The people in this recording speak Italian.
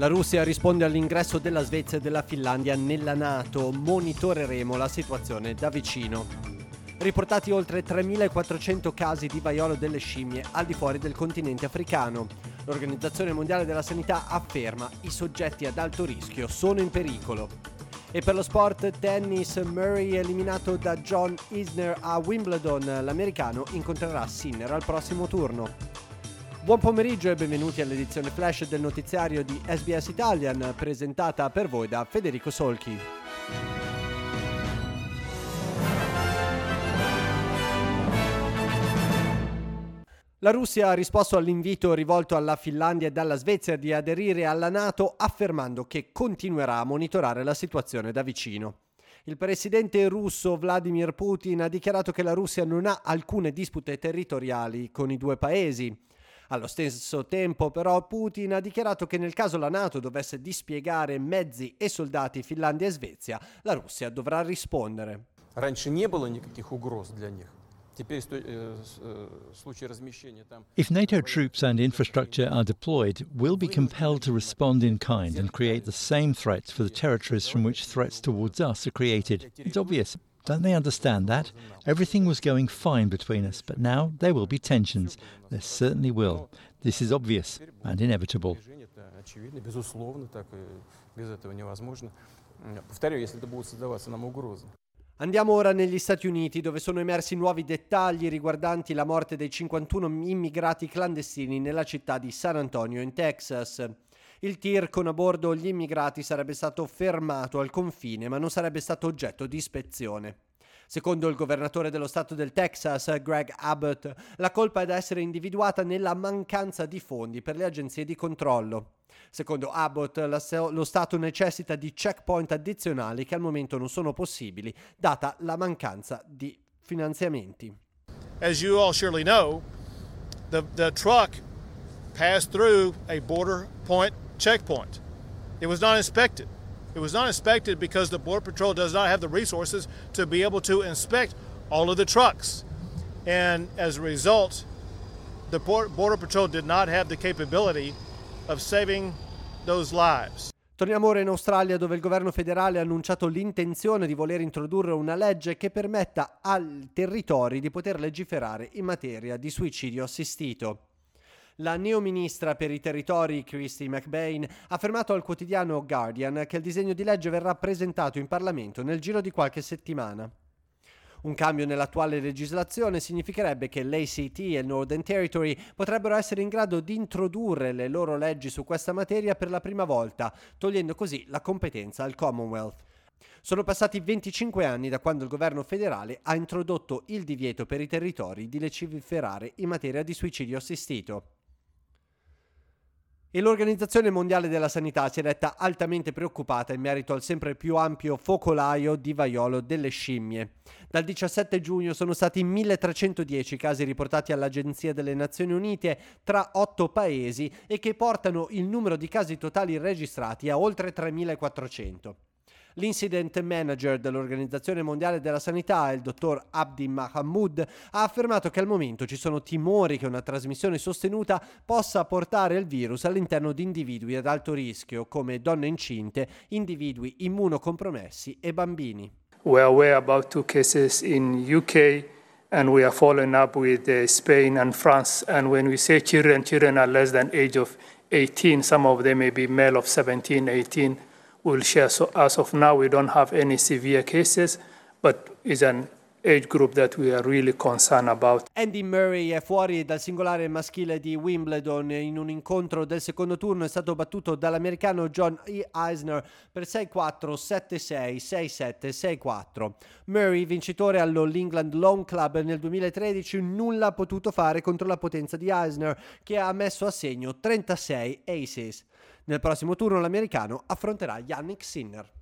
La Russia risponde all'ingresso della Svezia e della Finlandia nella NATO. Monitoreremo la situazione da vicino. Riportati oltre 3.400 casi di vaiolo delle scimmie al di fuori del continente africano. L'Organizzazione Mondiale della Sanità afferma i soggetti ad alto rischio sono in pericolo. E per lo sport tennis, Murray eliminato da John Isner a Wimbledon. L'americano incontrerà Sinner al prossimo turno. Buon pomeriggio e benvenuti all'edizione flash del notiziario di SBS Italian, presentata per voi da Federico Solchi. La Russia ha risposto all'invito rivolto alla Finlandia e alla Svezia di aderire alla NATO, affermando che continuerà a monitorare la situazione da vicino. Il presidente russo Vladimir Putin ha dichiarato che la Russia non ha alcune dispute territoriali con i due paesi. Allo stesso tempo, però, Putin ha dichiarato che nel caso la NATO dovesse dispiegare mezzi e soldati in Finlandia e Svezia, la Russia dovrà rispondere. Раньше не было никаких угроз для них. Теперь в случае размещения там. If NATO troops and infrastructure are deployed, we'll be compelled to respond in kind and create the same threats for the territories from which threats towards us are created. It's obvious. Don't they understand that? Everything was going fine between us, but now there will be tensions. There certainly will. This is obvious and inevitable. Очевидно, безусловно, так без этого невозможно. Повторяю, если это будут создаваться нам угрозы. Andiamo ora negli Stati Uniti, dove sono emersi nuovi dettagli riguardanti la morte dei 51 immigrati clandestini nella città di San Antonio, in Texas. Il tir con a bordo gli immigrati sarebbe stato fermato al confine, ma non sarebbe stato oggetto di ispezione. Secondo il governatore dello stato del Texas, Greg Abbott, la colpa è da essere individuata nella mancanza di fondi per le agenzie di controllo. Secondo Abbott, lo Stato necessita di checkpoint addizionali che al momento non sono possibili, data la mancanza di finanziamenti. As you all surely know, the truck passed through a border point checkpoint. It was not inspected. It was not inspected because the Border Patrol does not have the resources to be able to inspect all of the trucks. And as a result, the Border Patrol did not have the capability of saving those lives. Torniamo ora in Australia, dove il governo federale ha annunciato l'intenzione di voler introdurre una legge che permetta ai territori di poter legiferare in materia di suicidio assistito. La neoministra per i territori Christy McBain ha affermato al quotidiano Guardian che il disegno di legge verrà presentato in Parlamento nel giro di qualche settimana. Un cambio nell'attuale legislazione significherebbe che l'ACT e il Northern Territory potrebbero essere in grado di introdurre le loro leggi su questa materia per la prima volta, togliendo così la competenza al Commonwealth. Sono passati 25 anni da quando il governo federale ha introdotto il divieto per i territori di legiferare in materia di suicidio assistito. E l'Organizzazione Mondiale della Sanità si è detta altamente preoccupata in merito al sempre più ampio focolaio di vaiolo delle scimmie. Dal 17 giugno sono stati 1.310 casi riportati all'Agenzia delle Nazioni Unite tra 8 paesi e che portano il numero di casi totali registrati a oltre 3.400. L'incident manager dell'Organizzazione Mondiale della Sanità, il dottor Abdi Mahamud, ha affermato che al momento ci sono timori che una trasmissione sostenuta possa portare il virus all'interno di individui ad alto rischio, come donne incinte, individui immunocompromessi e bambini. We are aware about 2 cases in UK and we are following up with Spain and France. And when we say children are less than age of 18, some of them may be male of 17, 18. We'll share. So as of now, we don't have any severe cases, but it's an age group that we are really concerned about. Andy Murray è fuori dal singolare maschile di Wimbledon. In un incontro del secondo turno è stato battuto dall'americano John Isner per 6-4, 7-6, 6-7, 6-4. Murray, vincitore all'All England Lawn Club nel 2013, nulla ha potuto fare contro la potenza di Isner, che ha messo a segno 36 aces. Nel prossimo turno l'americano affronterà Jannik Sinner.